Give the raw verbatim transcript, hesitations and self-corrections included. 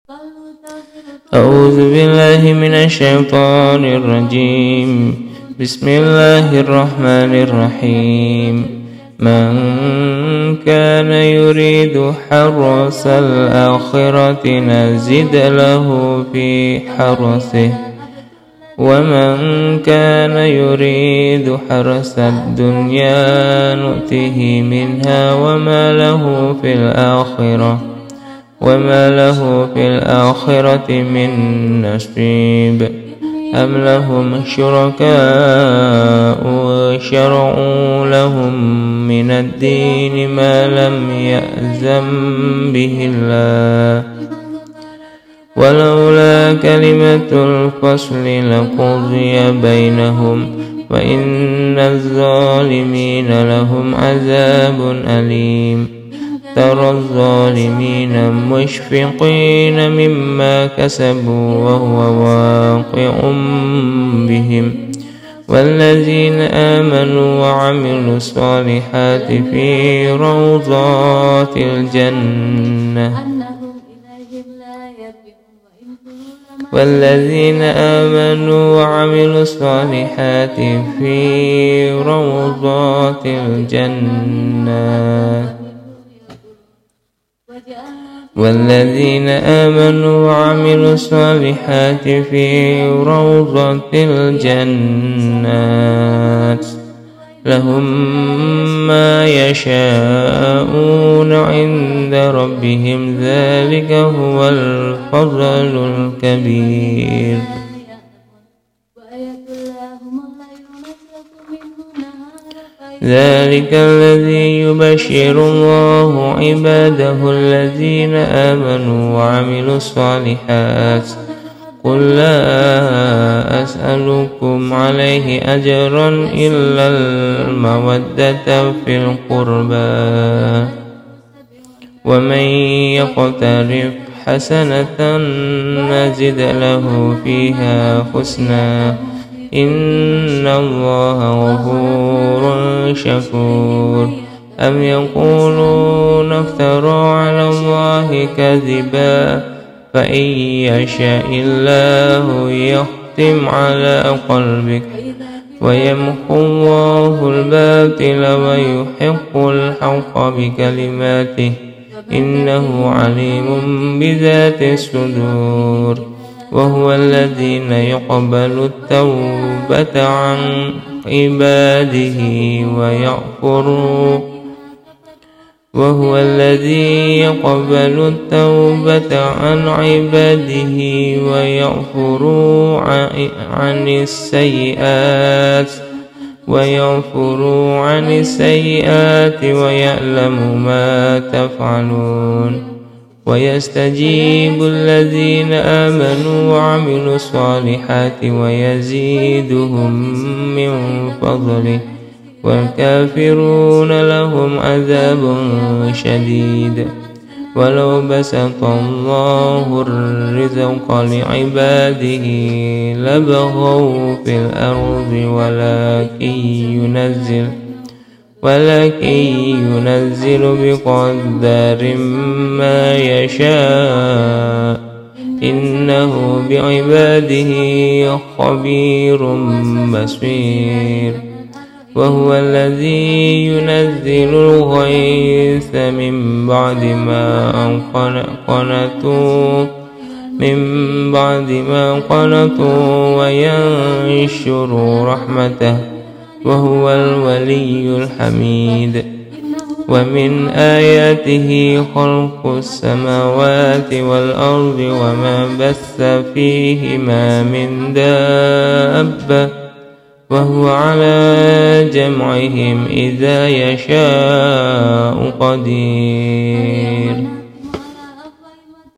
أعوذ بالله من الشيطان الرجيم. بسم الله الرحمن الرحيم. من كان يريد حرث الآخرة نزد له في حرثه ومن كان يريد حرث الدنيا نؤته منها وما له في الآخرة وما له في الآخرة من نصيب. أم لهم شركاء شرعوا لهم من الدين ما لم يأذن به الله ولولا كلمة الفصل لقضي بينهم وإن الظالمين لهم عذاب أليم. ترى الظالمين مشفقين مما كسبوا وهو واقع بهم والذين آمنوا وعملوا الصالحات في روضات الجنة والذين آمنوا وعملوا الصالحات في روضات الجنة والذين آمنوا وعملوا الصالحات في روضة الجنات لهم ما يشاءون عند ربهم ذلك هو الفضل الكبير. ذلك الذي يبشر الله عباده الذين آمنوا وعملوا الصالحات قل لا أسألكم عليه أجرا إلا المودة في القربى ومن يقترف حسنة نزد له فيها حسنا إن الله غفور شكور. أم يقولون افترى على الله كذبا فإن يشاء الله يختم على قلبك ويمحو الله الباطل ويحق الحق بكلماته إنه عليم بذات الصدور. وهو الذين يقبل التوبة عن عباده ويغفر وهو الذي يقبل التوبة عن عباده ويغفر عن السيئات ويغفر عن السيئات ويعلم ما تفعلون ويستجيب الذين آمنوا وعملوا الصالحات ويزيدهم من فضله والكافرون لهم عذاب شديد. ولو بسط الله الرزق لعباده لبغوا في الأرض ولكن ينزل ولكن ينزل بقدر ما يشاء إنه بعباده خبير بصير. وهو الذي ينزل الغيث من بعد ما قنطوا من بعد ما قنطوا وينشر رحمته وهو الولي الحميد. ومن آياته خلق السماوات والأرض وما بث فيهما من دابة وهو على جمعهم إذا يشاء قدير.